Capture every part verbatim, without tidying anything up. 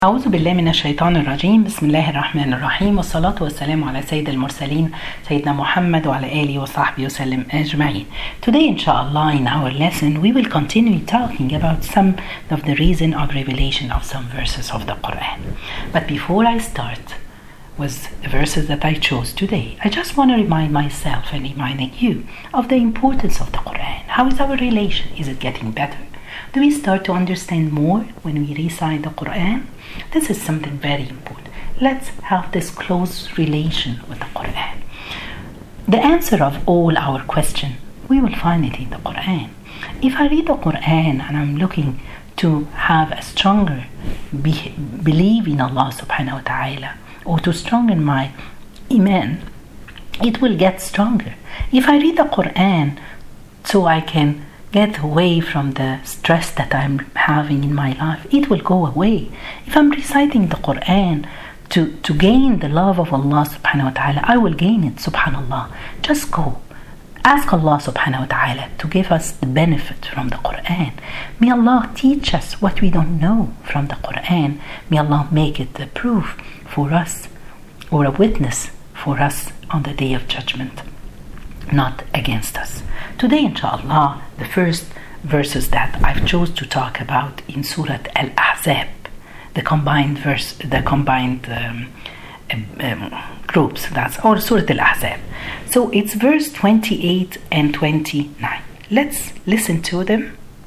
أعوذ بالله من الشيطان الرجيم. بسم الله الرحمن الرحيم، والصلاة والسلام على سيد المرسلين سيدنا محمد وعلى آله وصحبه وسلم أجمعين. Today inshallah in our lesson we will continue talking about some of the reason of revelation of some verses of the Quran. But before I start with the verses that I chose today, I just want to remind myself and reminding you of the importance of the Quran. How is our relation? Is it getting better? Do we start to understand more when we recite the Quran? This is something very important. Let's have this close relation with the Quran. The answer of all our questions, we will find it in the Quran. If I read the Quran and I'm looking to have a stronger be- belief in Allah subhanahu wa ta'ala, or to strengthen my iman, it will get stronger. If I read the Quran so I can get away from the stress that I'm having in my life, it will go away. If I'm reciting the Quran to, to gain the love of Allah subhanahu wa ta'ala, I will gain it, subhanallah. Just go. Ask Allah subhanahu wa ta'ala to give us the benefit from the Quran. May Allah teach us what we don't know from the Quran. May Allah make it a proof for us or a witness for us on the day of judgment, not against us. Today, inshallah, the first verses that I've chose to talk about in Surah Al-Ahzab, the combined verse, the combined um, um, groups. That's or Surah Al-Ahzab. So it's verse twenty-eight and twenty-nine. Let's listen to them.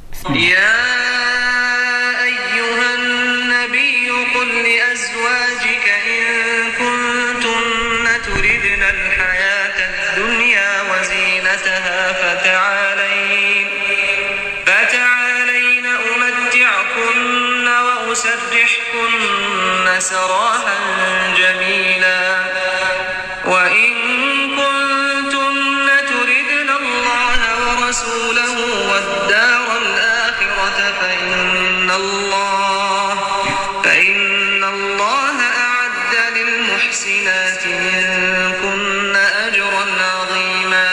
فتعالين فتعالين أمتعكن وأسرحكن سراحا جميلا وإن كنتن تردن الله ورسوله والدار الآخرة فإن الله فإن الله أعد للمحسنات منكن أجرا عظيما.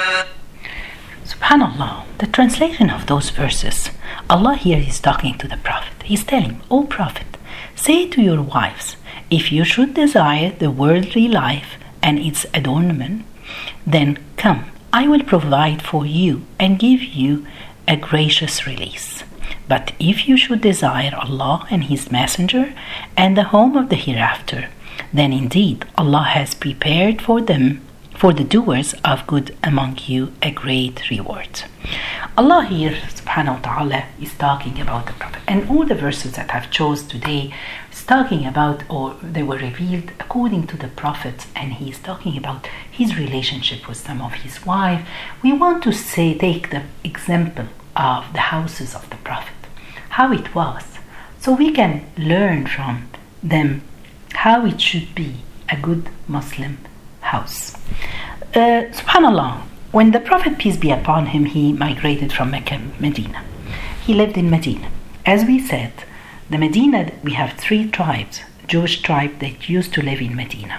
SubhanAllah, the translation of those verses, Allah here is talking to the Prophet. He's telling, O Prophet, say to your wives, if you should desire the worldly life and its adornment, then come, I will provide for you and give you a gracious release. But if you should desire Allah and His Messenger and the home of the hereafter, then indeed Allah has prepared for them, for the doers of good among you, a great reward. Allah here, subhanahu wa ta'ala, is talking about the Prophet. And all the verses that I've chose today is talking about, or they were revealed according to the Prophet, and he is talking about his relationship with some of his wives. We want to say, take the example of the houses of the Prophet, how it was, so we can learn from them how it should be a good Muslim house. Uh, Subhanallah, when the Prophet, peace be upon him, he migrated from Mecca, Medina. He lived in Medina. As we said, the Medina, we have three tribes, Jewish tribe that used to live in Medina.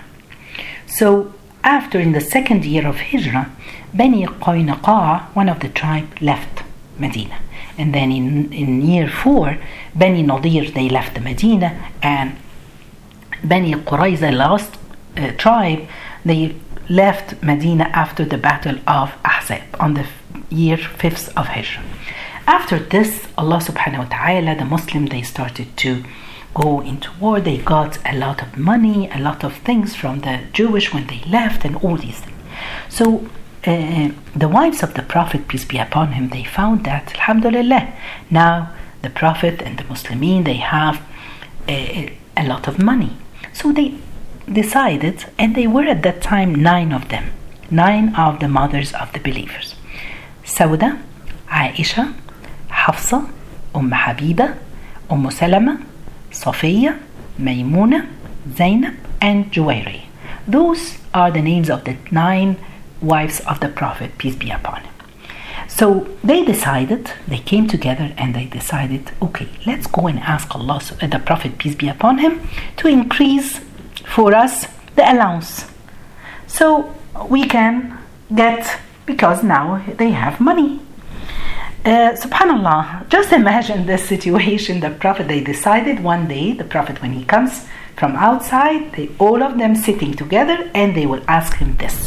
So after, in the second year of Hijrah, Bani Qaynuqa, one of the tribe, left Medina. And then in, in year four, Bani Nadir, they left the Medina, and Bani Qurayza, last uh, tribe, they left Medina after the battle of Ahzab on the year fifth of Hijrah. After this, Allah subhanahu wa ta'ala, the Muslim, they started to go into war. They got a lot of money, a lot of things from the Jewish when they left, and all these things. So uh, the wives of the Prophet, peace be upon him, they found that, alhamdulillah, now the Prophet and the Muslimin, they have a, a lot of money. So they decided, and they were at that time nine of them, nine of the mothers of the believers: Sauda, Aisha, Hafsa, Umm Habiba, Umm Salama, Safiya, Maymuna, Zainab, and Juwayriya. Those are the names of the nine wives of the Prophet, peace be upon him. So they decided, they came together and they decided, okay, let's go and ask Allah, the Prophet, peace be upon him, to increase for us the allowance, so we can get, because now they have money. Uh, subhanallah, just imagine this situation. The Prophet, they decided one day, the Prophet, when he comes from outside, they, all of them sitting together, and they will ask him this.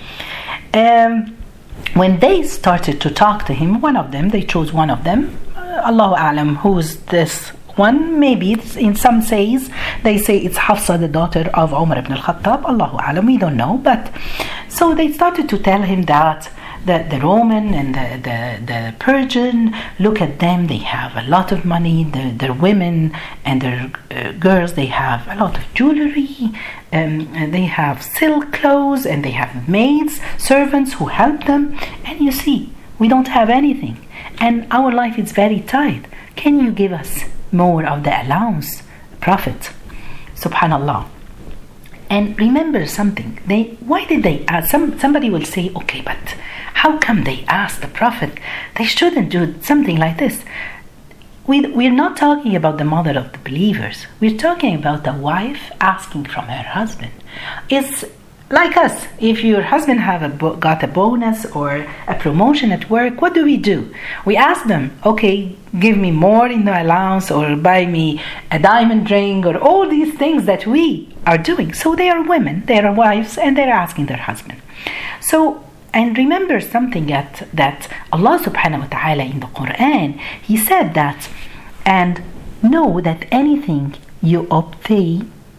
Um, when they started to talk to him, one of them, they chose one of them, uh, Allahu A'lam, who's this one? Maybe it's, in some says, they say it's Hafsa, the daughter of Umar ibn al-Khattab, Allahu A'lam, we don't know. But so they started to tell him that The, the Roman and the, the, the Persian, look at them, they have a lot of money, the, their women and their uh, girls, they have a lot of jewelry, um, and they have silk clothes, and they have maids, servants who help them, and you see, we don't have anything, and our life is very tight. Can you give us more of the allowance, Prophet? Subhanallah. And remember something, they why did they ask? Some, somebody will say, okay, but how come they asked the Prophet? They shouldn't do something like this. We, we're not talking about the mother of the believers. We're talking about the wife asking from her husband. It's like us. If your husband have a bo- got a bonus or a promotion at work, what do we do? We ask them, okay, give me more in the allowance, or buy me a diamond ring, or all these things that we are doing. So they are women, they are wives, and they're asking their husband. So, and remember something that, that Allah subhanahu wa ta'ala in the Quran, He said that, and know that anything you obtain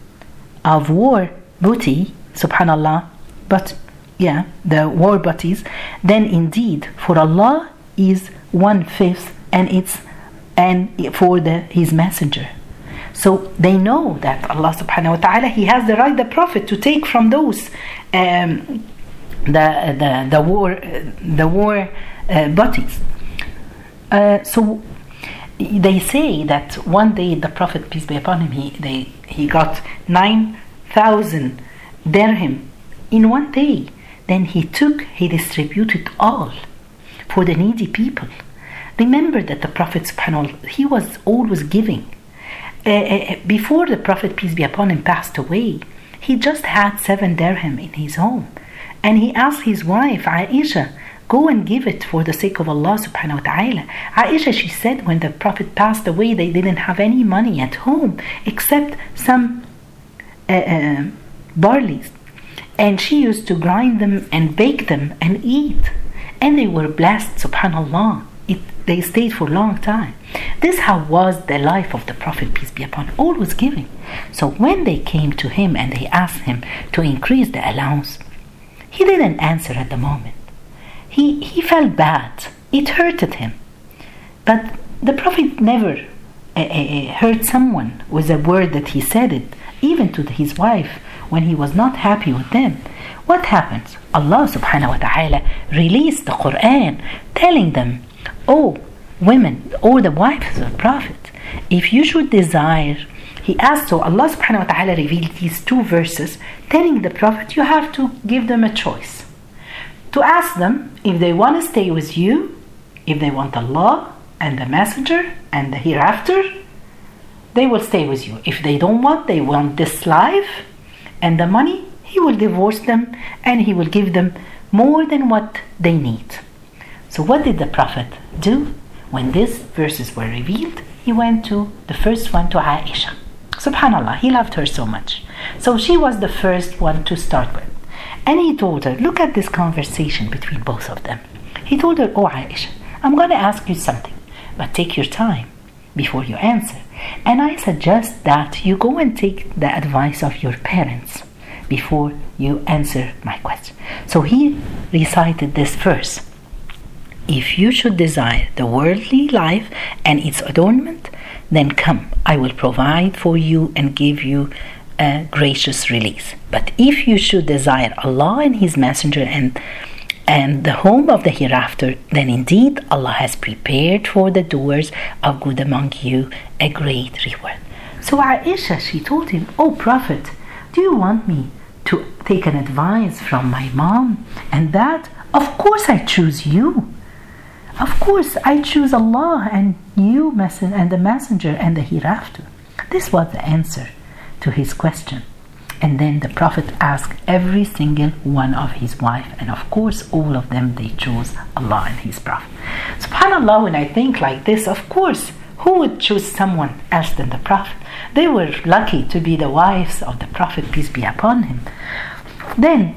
of war booty, subhanallah, but yeah, the war booties, then indeed for Allah is one fifth, and it's and for the His messenger. So they know that Allah subhanahu wa ta'ala, He has the right, the Prophet, to take from those um, the, the the war the war uh, booties. Uh, so they say that one day the Prophet, peace be upon him, he they he got nine thousand dirham in one day. Then he took, he distributed all for the needy people. Remember that the Prophet subhanahu wa ta'ala, he was always giving. Uh, uh, before the Prophet, peace be upon him, passed away, he just had seven dirham in his home, and he asked his wife Aisha, go and give it for the sake of Allah subhanahu wa ta'ala. Aisha, she said, when the Prophet passed away, they didn't have any money at home except some uh, uh, barleys, and she used to grind them and bake them and eat, and they were blessed, subhanallah. It, they stayed for a long time. This how was the life of the Prophet, peace be upon him, always giving. So when they came to him and they asked him to increase the allowance, he didn't answer at the moment. He, he felt bad. It hurted him. But the Prophet never uh, uh, hurt someone with a word that he said it, even to his wife, when he was not happy with them. What happens? Allah subhanahu wa ta'ala released the Quran telling them, oh women, or the wives of the Prophet, if you should desire, he asked, so Allah subhanahu wa ta'ala revealed these two verses telling the Prophet, you have to give them a choice. To ask them if they want to stay with you, if they want Allah and the messenger and the hereafter, they will stay with you. If they don't want, they want this life and the money, he will divorce them and he will give them more than what they need. So what did the Prophet do? When these verses were revealed, he went to the first one, to Aisha. Subhanallah, he loved her so much. So she was the first one to start with. And he told her, look at this conversation between both of them. He told her, oh Aisha, I'm going to ask you something, but take your time before you answer. And I suggest that you go and take the advice of your parents before you answer my question. So he recited this verse. If you should desire the worldly life and its adornment, then come, I will provide for you and give you a gracious release. But if you should desire Allah and His Messenger and and the home of the hereafter, then indeed Allah has prepared for the doers of good among you a great reward. So Aisha, she told him, oh Prophet, do you want me to take an advice from my mom and that? Of course I choose you. Of course I choose Allah and you and the messenger and the hereafter. This was the answer to his question. And then the Prophet asked every single one of his wife, and of course all of them, they chose Allah and his Prophet. SubhanAllah, when I think like this, of course, who would choose someone else than the Prophet? They were lucky to be the wives of the Prophet, peace be upon him. Then,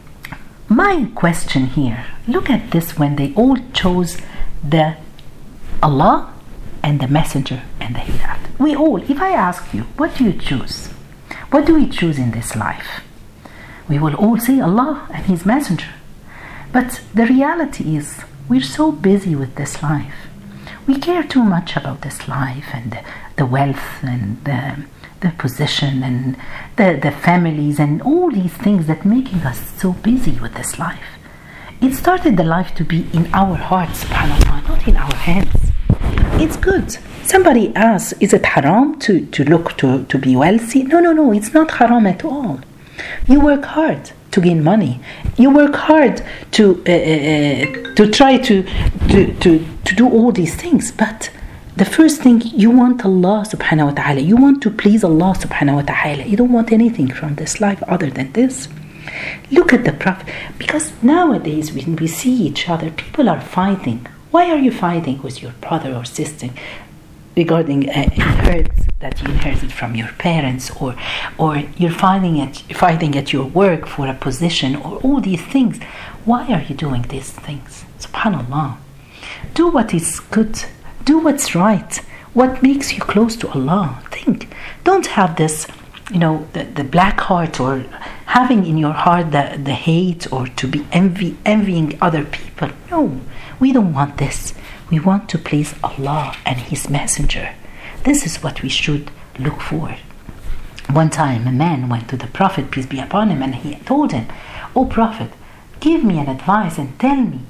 my question here, look at this, when they all chose the Allah and the Messenger and the Hereafter. We all, if I ask you, what do you choose? What do we choose in this life? We will all say Allah and His Messenger. But the reality is, we're so busy with this life. We care too much about this life and the, the wealth and the, the position and the, the families and all these things that making us so busy with this life. It started the life to be in our hearts, subhanAllah, not in our hands. It's good. Somebody asks, is it haram to, to look to, to be wealthy? No, no, no, it's not haram at all. You work hard to gain money. You work hard to uh, uh, to try to, to, to, to do all these things. But the first thing, you want Allah subhanahu wa ta'ala. You want to please Allah subhanahu wa ta'ala. You don't want anything from this life other than this. Look at the Prophet. Because nowadays when we see each other, people are fighting. Why are you fighting with your brother or sister regarding uh, inheritance that you inherited from your parents, or or you're fighting at fighting at your work for a position, or all these things? Why are you doing these things? SubhanAllah. Do what is good. Do what's right. What makes you close to Allah. Think. Don't have this, you know, the, the black heart, or having in your heart the, the hate, or to be envy, envying other people. No, we don't want this. We want to please Allah and His Messenger. This is what we should look for. One time a man went to the Prophet, peace be upon him, and he told him, "O Prophet, give me an advice and tell me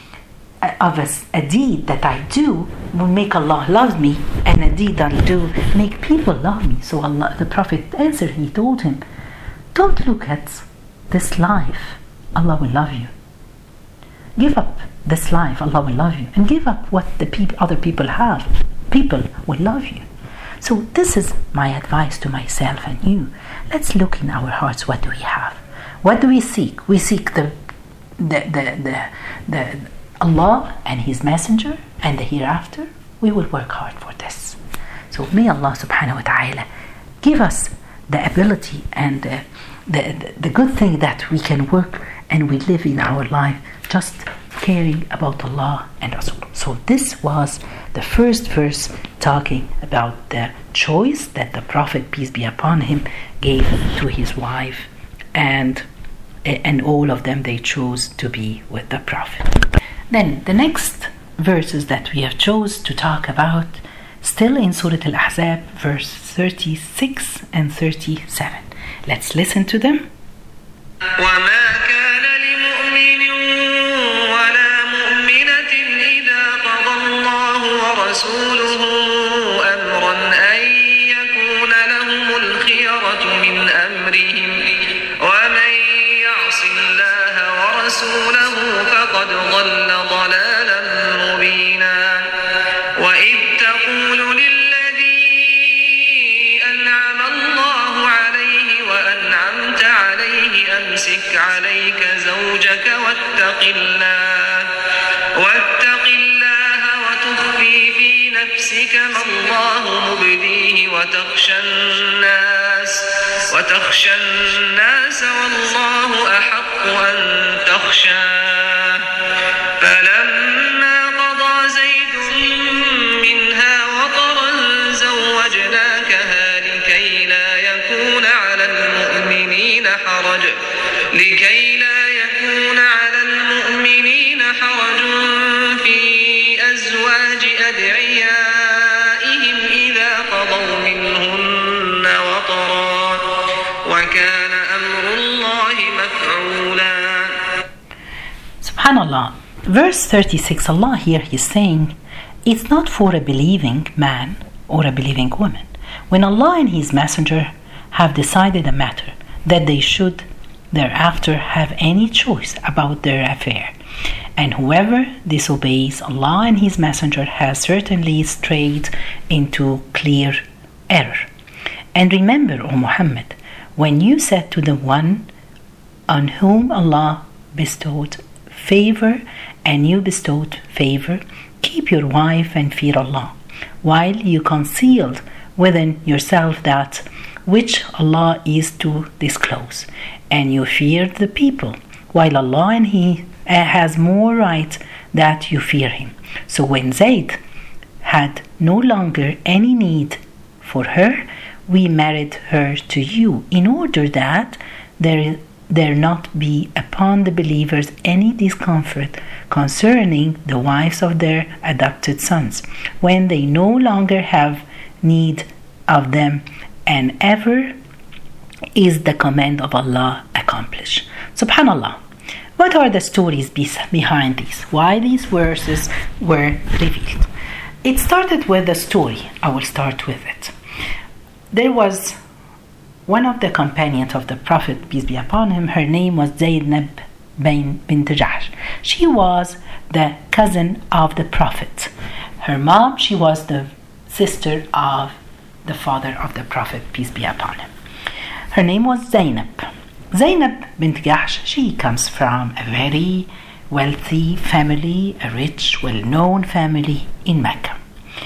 of a, a deed that I do will make Allah love me, and a deed that I do make people love me." So Allah, the Prophet answered, he told him, "Don't look at this life, Allah will love you. Give up this life, Allah will love you. And give up what the peop- other people have, people will love you." So this is my advice to myself and you. Let's look in our hearts, what do we have? What do we seek? We seek the the the the, the Allah and His Messenger and the hereafter. We will work hard for this. So may Allah subhanahu wa ta'ala give us the ability and uh, the, the the good thing that we can work and we live in our life just caring about Allah and Rasul. So this was the first verse talking about the choice that the Prophet, peace be upon him, gave to his wife, and and all of them, they chose to be with the Prophet. Then the next verses that we have chose to talk about, still in Surah Al-Ahzab, verse thirty-six and thirty-seven. Let's listen to them. وما كان لمؤمن ولا مؤمنة إذا قضى الله ورسوله أمرا أن يكون لهم الخيرة من أمرهم ومن يعص الله ورسوله فقد ضل ضلالا مبينا وإذ تقول للذي أنعم الله عليه وأنعمت عليه أمسك عليك زوجك واتق الله واتق الله وتخفي في نفسك ما الله مبديه وتخشى الناس وتخشى الناس والله أحق أن تخشاه فلما قضى زيد منها وطرا زوجناكها لكي لا يكون على المؤمنين حرج لكي لا يكون على المؤمنين حرج في أزواج أدعيائهم إذا قضوا منهن وطرا وكان أمر الله مفعولا. SubhanAllah. Verse thirty-six, Allah here is saying, it's not for a believing man or a believing woman. When Allah and His Messenger have decided a matter that they should thereafter have any choice about their affair, and whoever disobeys Allah and His Messenger has certainly strayed into clear error. And remember, O Muhammad, when you said to the one on whom Allah bestowed favor and you bestowed favor, keep your wife and fear Allah, while you concealed within yourself that which Allah is to disclose, and you feared the people, while Allah and He has more right that you fear Him. So when Zayd had no longer any need for her, we married her to you, in order that there there not be upon the believers any discomfort concerning the wives of their adopted sons, when they no longer have need of them, and ever is the command of Allah accomplished. Subhanallah. What are the stories behind these? Why these verses were revealed? It started with a story. I will start with it. There was one of the companions of the Prophet, peace be upon him. Her name was Zaynab bint Jahsh. She was the cousin of the Prophet. Her mom, she was the sister of the father of the Prophet, peace be upon him. Her name was Zaynab. Zaynab bint Jahsh, she comes from a very wealthy family, a rich, well-known family in Mecca.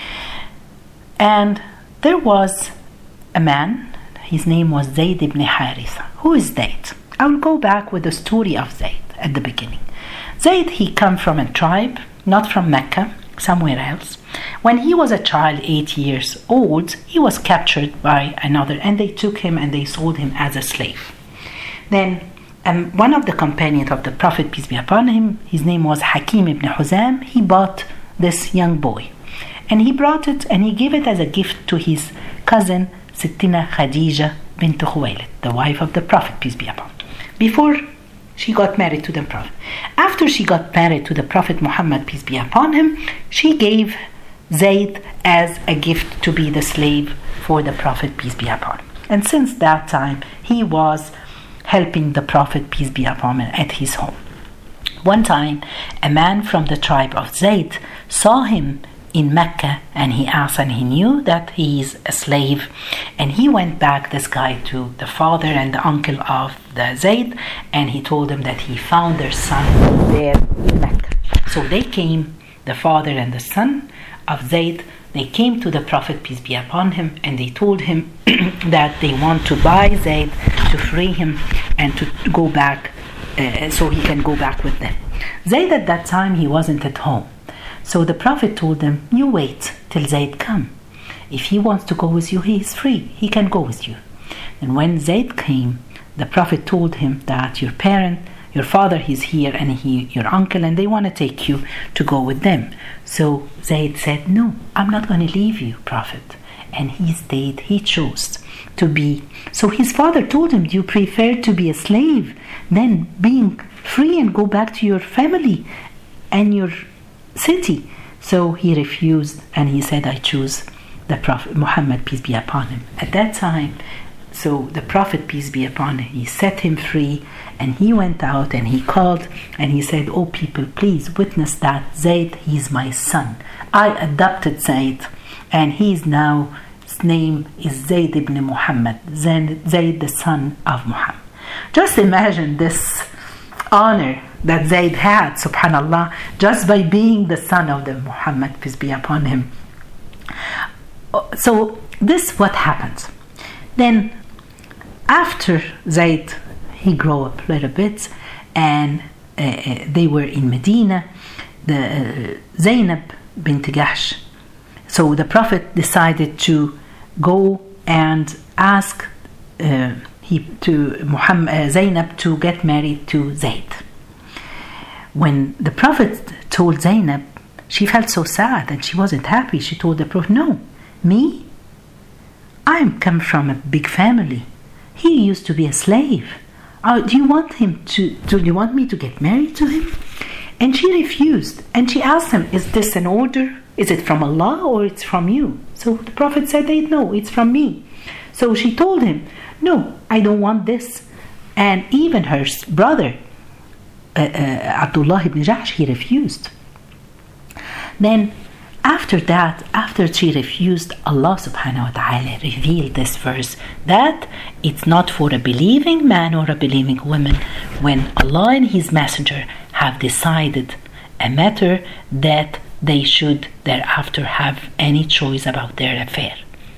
And there was a man, his name was Zayd ibn Haritha. Who is Zayd? I will go back with the story of Zayd at the beginning. Zayd, he come from a tribe, not from Mecca, somewhere else. When he was a child, eight years old, he was captured by another, and they took him and they sold him as a slave. Then um, one of the companions of the Prophet, peace be upon him, his name was Hakim ibn Huzam, he bought this young boy. And he brought it and he gave it as a gift to his cousin, Sittina Khadija bint Khuwaylid, the wife of the Prophet, peace be upon him, before she got married to the Prophet. After she got married to the Prophet Muhammad, peace be upon him, she gave Zayd as a gift to be the slave for the Prophet, peace be upon him. And since that time, he was helping the Prophet, peace be upon him, at his home. One time, a man from the tribe of Zayd saw him in Mecca, and he asked, and he knew that he is a slave, and he went back, this guy, to the father and the uncle of the Zayd, and he told them that he found their son there in Mecca. So they came, the father and the son of Zayd, they came to the Prophet, peace be upon him, and they told him that they want to buy Zayd, to free him and to go back, uh, so he can go back with them. Zayd at that time, he wasn't at home. So the Prophet told them, you wait till Zayd come. If he wants to go with you, he is free. He can go with you. And when Zayd came, the Prophet told him that your parent, your father, he's here, and he, your uncle, and they want to take you to go with them. So Zayd said, no, I'm not going to leave you, Prophet. And he stayed, he chose to be. So his father told him, do you prefer to be a slave than being free and go back to your family and your city? So he refused, and he said, I choose the Prophet Muhammad, peace be upon him. At that time, so the Prophet, peace be upon him, he set him free, and he went out and he called and he said, oh people, please witness that Zayd, he's my son. I adopted Zayd, and he's now, his name is Zayd ibn Muhammad, Zayd the son of Muhammad. Just imagine this honor that Zayd had, subhanallah, just by being the son of the Muhammad, peace be upon him. So this what happens. Then after Zayd, he grew up a little bit, and uh, they were in Medina, the uh, Zaynab bint Jahsh. So the Prophet decided to go and ask uh, he, to Muhammad, uh, Zaynab to get married to Zayd. When the Prophet told Zaynab, she felt so sad and she wasn't happy. She told the Prophet, no, me? I'm come from a big family. He used to be a slave. Uh, do you want him to, do you want me to get married to him? And she refused. And she asked him, is this an order? Is it from Allah or it's from you? So the Prophet said, no, it's from me. So she told him, no, I don't want this. And even her brother, uh, uh, Abdullah ibn Jahsh, he refused. Then after that, after she refused, Allah subhanahu wa ta'ala revealed this verse that It's not for a believing man or a believing woman when Allah and His Messenger have decided a matter that they should thereafter have any choice about their affair.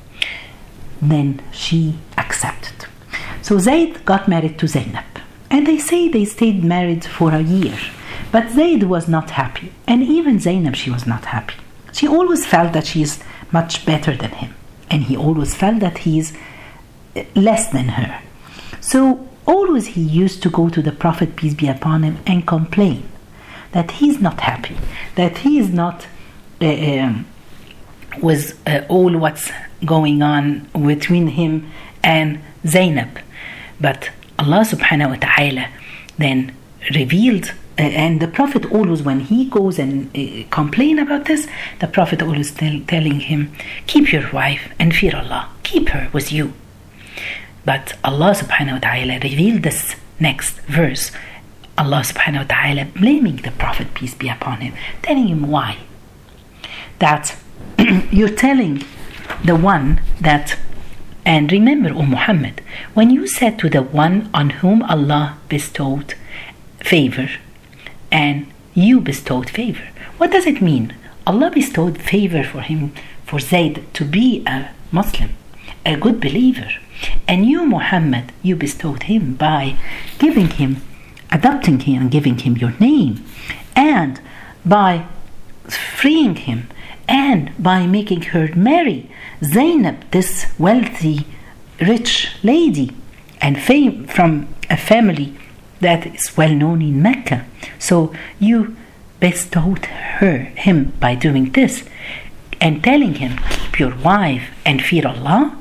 Then she accepted. So Zayd got married to Zainab, and they say they stayed married for a year. But Zayd was not happy, and even Zainab, she was not happy. She always felt that she is much better than him, and he always felt that he is less than her. So always he used to go to the Prophet, peace be upon him, and complain that he's not happy, that he is not uh, um, with uh, all what's going on between him and Zainab. But Allah subhanahu wa ta'ala then revealed, uh, and the Prophet always, when he goes and uh, complain about this, the Prophet always tell, telling him, keep your wife and fear Allah, keep her with you. But Allah subhanahu wa ta'ala revealed this next verse, Allah subhanahu wa ta'ala blaming the Prophet, peace be upon him, telling him why. That you're telling the one that, and remember, O Muhammad, when you said to the one on whom Allah bestowed favor, and you bestowed favor, what does it mean? Allah bestowed favor for him, for Zayd to be a Muslim, a good believer. And you, Muhammad, you bestowed him by giving him, adopting him and giving him your name, and by freeing him, and by making her marry Zainab, this wealthy, rich lady, and fame from a family that is well known in Mecca. So you bestowed her, him by doing this, and telling him, keep your wife and fear Allah.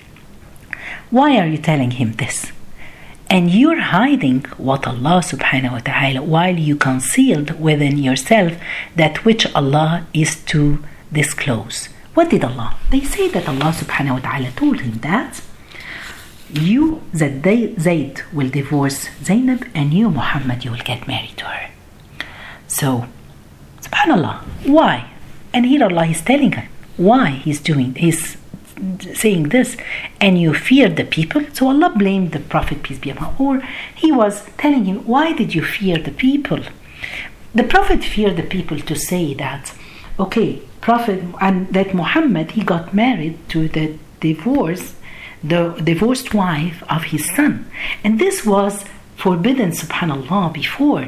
Why are you telling him this? And you're hiding what Allah subhanahu wa ta'ala, while you concealed within yourself that which Allah is to disclose. What did Allah? They say that Allah subhanahu wa ta'ala told him that you, that they, Zayd will divorce Zainab, and you, Muhammad, you will get married to her. So, subhanallah, why? And here Allah is telling her why he's doing, he's saying this, and you fear the people. So Allah blamed the Prophet, peace be upon him, or he was telling him, why did you fear the people? The Prophet feared the people to say that, okay, Prophet, and that Muhammad, he got married to the divorce, the divorced wife of his son, and this was forbidden, subhanallah, before,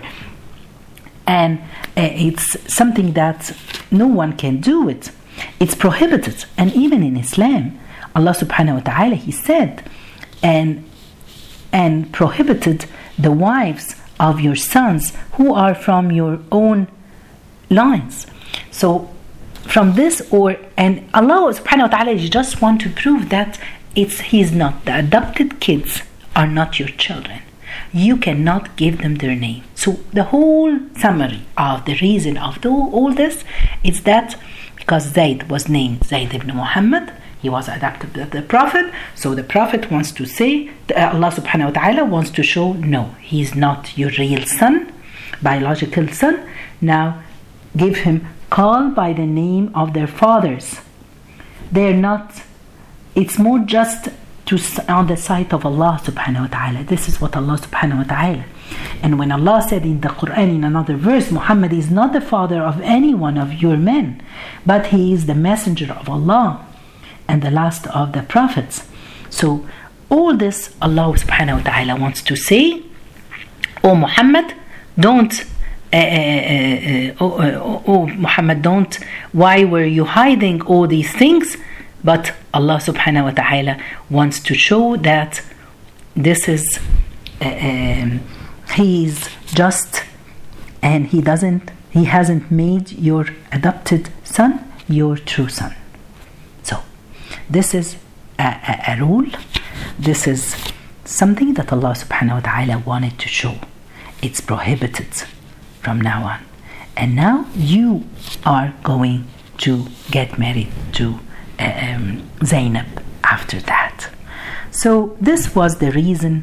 and uh, it's something that no one can do it. It's prohibited. And even in Islam, Allah subhanahu wa ta'ala, he said, and and prohibited the wives of your sons who are from your own lines. So from this, or and Allah subhanahu wa ta'ala just want to prove that it's he's not, the adopted kids are not your children. You cannot give them their name. So the whole summary of the reason of the, all this is that because Zayd was named Zayd ibn Muhammad, he was adopted by the Prophet, so the Prophet wants to say, Allah subhanahu wa ta'ala wants to show, no, he is not your real son, biological son. Now give him, call by the name of their fathers. They're not, it's more just to on the side of Allah subhanahu wa ta'ala. This is what Allah subhanahu wa ta'ala. And when Allah said in the Quran in another verse, Muhammad is not the father of any one of your men, but he is the messenger of Allah and the last of the prophets. So all this Allah subhanahu wa ta'ala wants to say, oh Muhammad, don't uh, uh, uh, oh, uh, oh Muhammad, don't, why were you hiding all these things? But Allah subhanahu wa ta'ala wants to show that this is uh, um, he is just, and he doesn't, he hasn't made your adopted son your true son. So this is a, a, a rule. This is something that Allah subhanahu wa ta'ala wanted to show. It's prohibited from now on. And now you are going to get married to um, Zainab after that. So this was the reason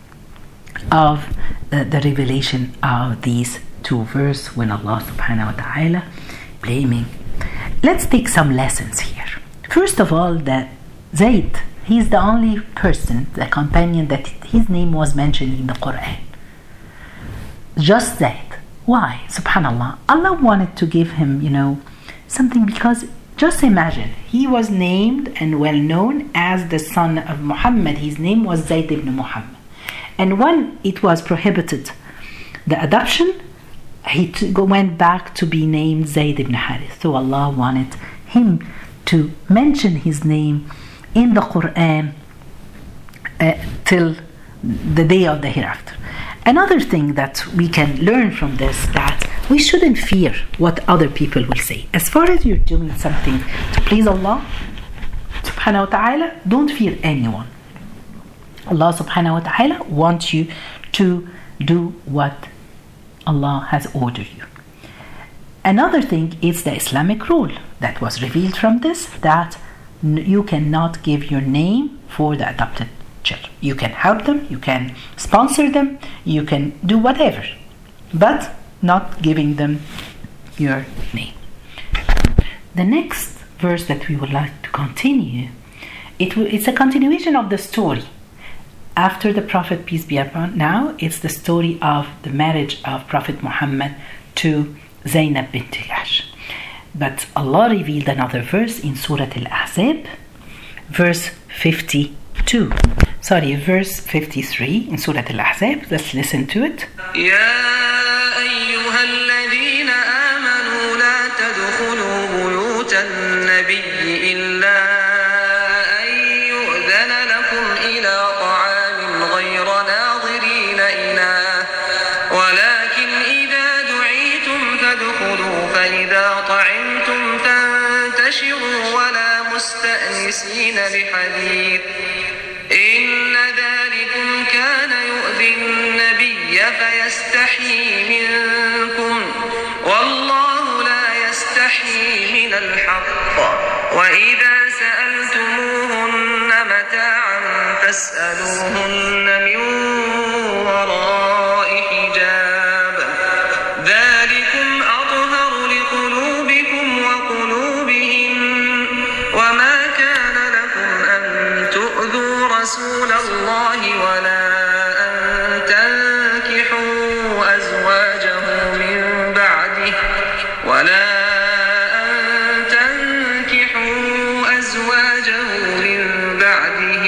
of uh, the revelation of these two verses when Allah subhanahu wa ta'ala blaming. Let's take some lessons here. First of all, that Zayd He's the only person, the companion, that his name was mentioned in the Quran. Just that. Why? Subhanallah. Allah wanted to give him, you know, something, because just imagine, he was named and well known as the son of Muhammad. His name was Zayd ibn Muhammad. And when it was prohibited, the adoption, he t- went back to be named Zayd ibn Harith. So Allah wanted him to mention his name in the Quran uh, till the day of the hereafter. Another thing that we can learn from this, that we shouldn't fear what other people will say. As far as you're doing something to please Allah subhanahu wa ta'ala, don't fear anyone. Allah subhanahu wa ta'ala wants you to do what Allah has ordered you. Another thing is the Islamic rule that was revealed from this, that you cannot give your name for the adopted children. You can help them, you can sponsor them, you can do whatever, but not giving them your name. The next verse that we would like to continue, it w- it's a continuation of the story. After the Prophet, peace be upon him, now it's the story of the marriage of Prophet Muhammad to Zainab bint Jahsh. But Allah revealed another verse in Surah Al-Ahzab, verse fifty-two. Sorry, verse fifty-three in Surah Al-Ahzab. Let's listen to it. يا أيها الذين آمنوا لا تدخلوا بيوت النبي إلا أن يؤذن لكم إلى طعام غير ناظرين إناه ولكن إذا دعيتم فادخلوا فإذا طعمتم فانتشروا ولا مستأنسين لحديث إن ذلكم كان يؤذي النبي فيستحيي منكم والله لا يستحيي من الحق وإذا سألتموهن متاعا فاسألوهن من وراء حجاب ذلكم أطهر لقلوبكم وقلوبهم وما كان لكم أن تؤذوا رسول الله ولا أن تنكحوا أزواجه من بعده ولا أن تنكحوا أزواجه من بعده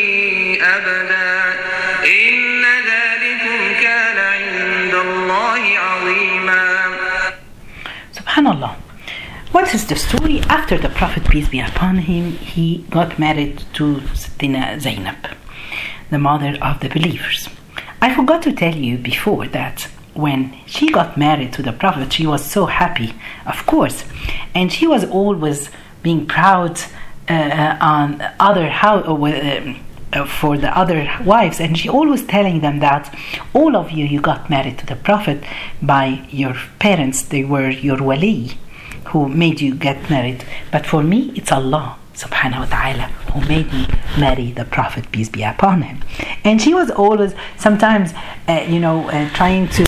أبدا إن ذلكم كان عند الله عظيما. Subhanallah. What is the story? After the Prophet, peace be upon him, he got married to Sayyidina Zainab, the mother of the believers. I forgot to tell you before that when she got married to the Prophet, she was so happy, of course, and she was always being proud uh, on other how uh, uh, for the other wives, and she always telling them that all of you, you got married to the Prophet by your parents; they were your wali, who made you get married. But for me, it's Allah subhanahu wa ta'ala who made me marry the Prophet, peace be upon him. And she was always sometimes uh, you know uh, trying to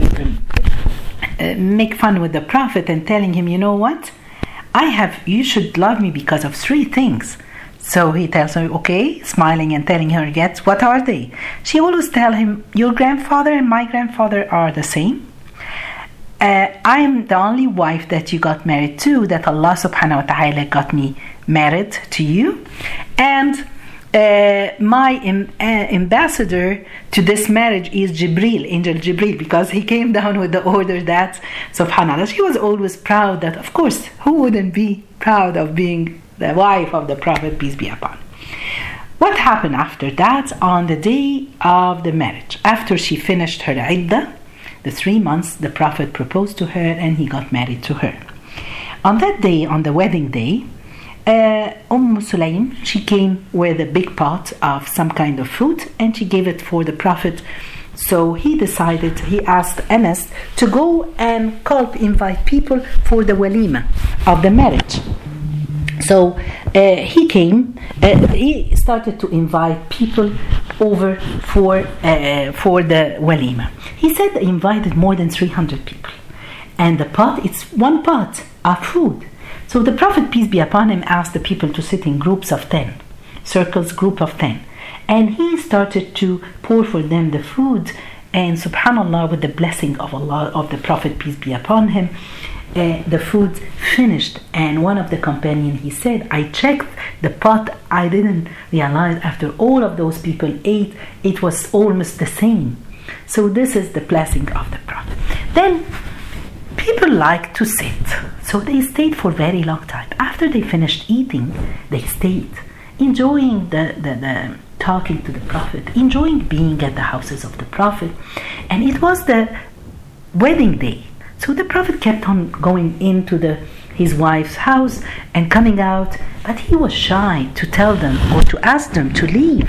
uh, make fun with the Prophet and telling him, you know what, I have you should love me because of three things. So he tells her, okay, smiling and telling her, yes, what are they? She always tell him, your grandfather and my grandfather are the same. Uh, I am the only wife that you got married to, that Allah subhanahu wa ta'ala got me married to you. And uh, my im- uh, ambassador to this marriage is Jibril, Angel Jibril, because he came down with the order that, subhanallah, she was always proud that, of course, who wouldn't be proud of being the wife of the Prophet, peace be upon him. What happened after that? On the day of the marriage, after she finished her iddah, the three months, the Prophet proposed to her and he got married to her. On that day, on the wedding day, uh, Umm Sulaim, she came with a big pot of some kind of fruit and she gave it for the Prophet. So he decided, he asked Anas to go and call, invite people for the walima of the marriage. So uh, he came, uh, he started to invite people over for uh, for the walima. He said he invited more than three hundred people. And the pot, it's one pot of food. So the Prophet, peace be upon him, asked the people to sit in groups of ten. circles, group of ten. And he started to pour for them the food. And subhanAllah, with the blessing of Allah, of the Prophet, peace be upon him, uh, the food finished. And one of the companions, he said, I checked the pot, I didn't realize after all of those people ate, it was almost the same. So this is the blessing of the Prophet. Then people like to sit, so they stayed for a very long time. After they finished eating, they stayed, enjoying the, the, the talking to the Prophet, enjoying being at the houses of the Prophet. And it was the wedding day. So the Prophet kept on going into the his wife's house and coming out, but he was shy to tell them or to ask them to leave.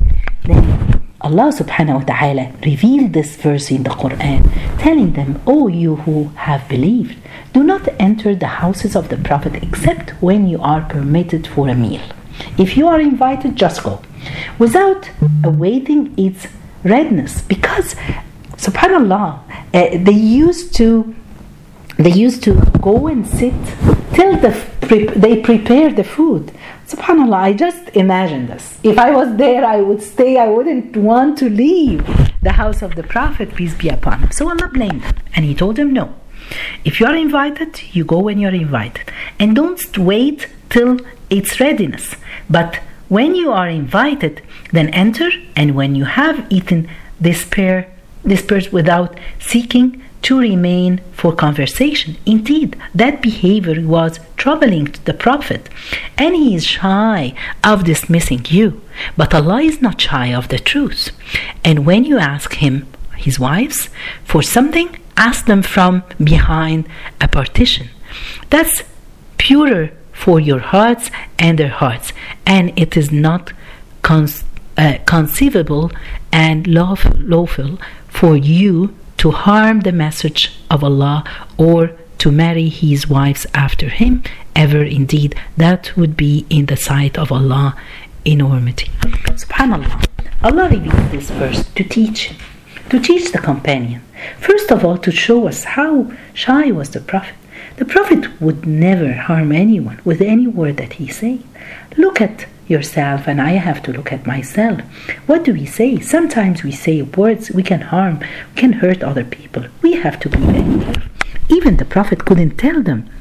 Then Allah subhanahu wa ta'ala revealed this verse in the Quran, telling them, O you who have believed, do not enter the houses of the Prophet except when you are permitted for a meal. If you are invited, just go, without awaiting its readiness, because subhanallah, uh, they used to they used to go and sit till the pre- they prepare the food. Subhanallah, I just imagine this. If I was there, I would stay. I wouldn't want to leave the house of the Prophet, peace be upon him. So Allah blamed them, and He told them, no. If you are invited, you go when you are invited, and don't wait till its readiness. But when you are invited, then enter, and when you have eaten, disperse, disperse without seeking to remain for conversation. Indeed, that behavior was troubling to the Prophet, and he is shy of dismissing you. But Allah is not shy of the truth. And when you ask him, his wives, for something, ask them from behind a partition. That's purer for your hearts and their hearts, and it is not con- uh, conceivable and lawful, lawful for you to harm the message of Allah or to marry his wives after him, ever. Indeed, that would be in the sight of Allah enormity. Subhanallah, Allah revealed this verse to teach him, to teach the companion. First of all, to show us how shy was the Prophet. The Prophet would never harm anyone with any word that he said. Look at yourself, and I have to look at myself. What do we say? Sometimes we say words we can harm, we can hurt other people. We have to be very careful. Even the Prophet couldn't tell them,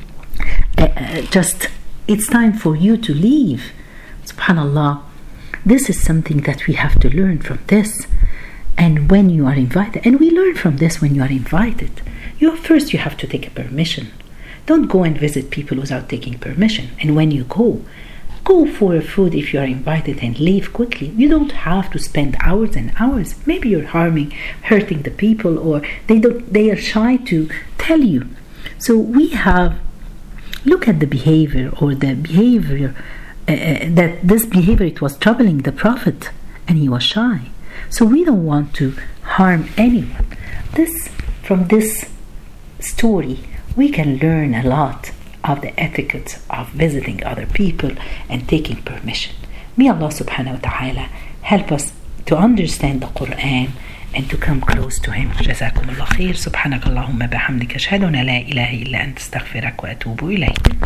uh, uh, just, it's time for you to leave. Subhanallah, this is something that we have to learn from this. And when you are invited, and we learn from this when you are invited, you first you have to take a permission. Don't go and visit people without taking permission. And when you go, go for food if you are invited and leave quickly. You don't have to spend hours and hours. Maybe you're harming, hurting the people, or they don't. They are shy to tell you. So we have look at the behavior or the behavior uh, that this behavior it was troubling the Prophet, and he was shy. So we don't want to harm anyone. This from this story we can learn a lot of the etiquette of visiting other people and taking permission. May Allah subhanahu wa ta'ala help us to understand the Quran and to come close to him. جزاكم الله خير. سبحانك اللهم بحمدك أشهد أن لا إله إلا أنت أستغفرك وأتوب إليك.